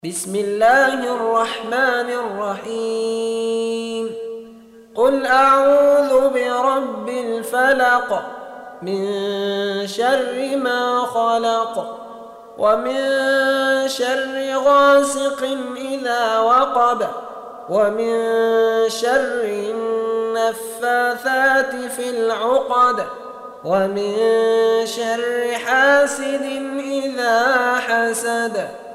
بسم الله الرحمن الرحيم. قل أعوذ برب الفلق من شر ما خلق ومن شر غاسق إذا وقب ومن شر النفاثات في العقد ومن شر حاسد إذا حسد.